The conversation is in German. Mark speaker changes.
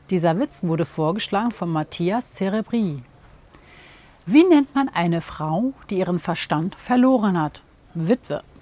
Speaker 1: Dieser Witz wurde vorgeschlagen von Matthias Cerebri. Wie nennt man eine Frau, die ihren Verstand verloren hat? Witwe.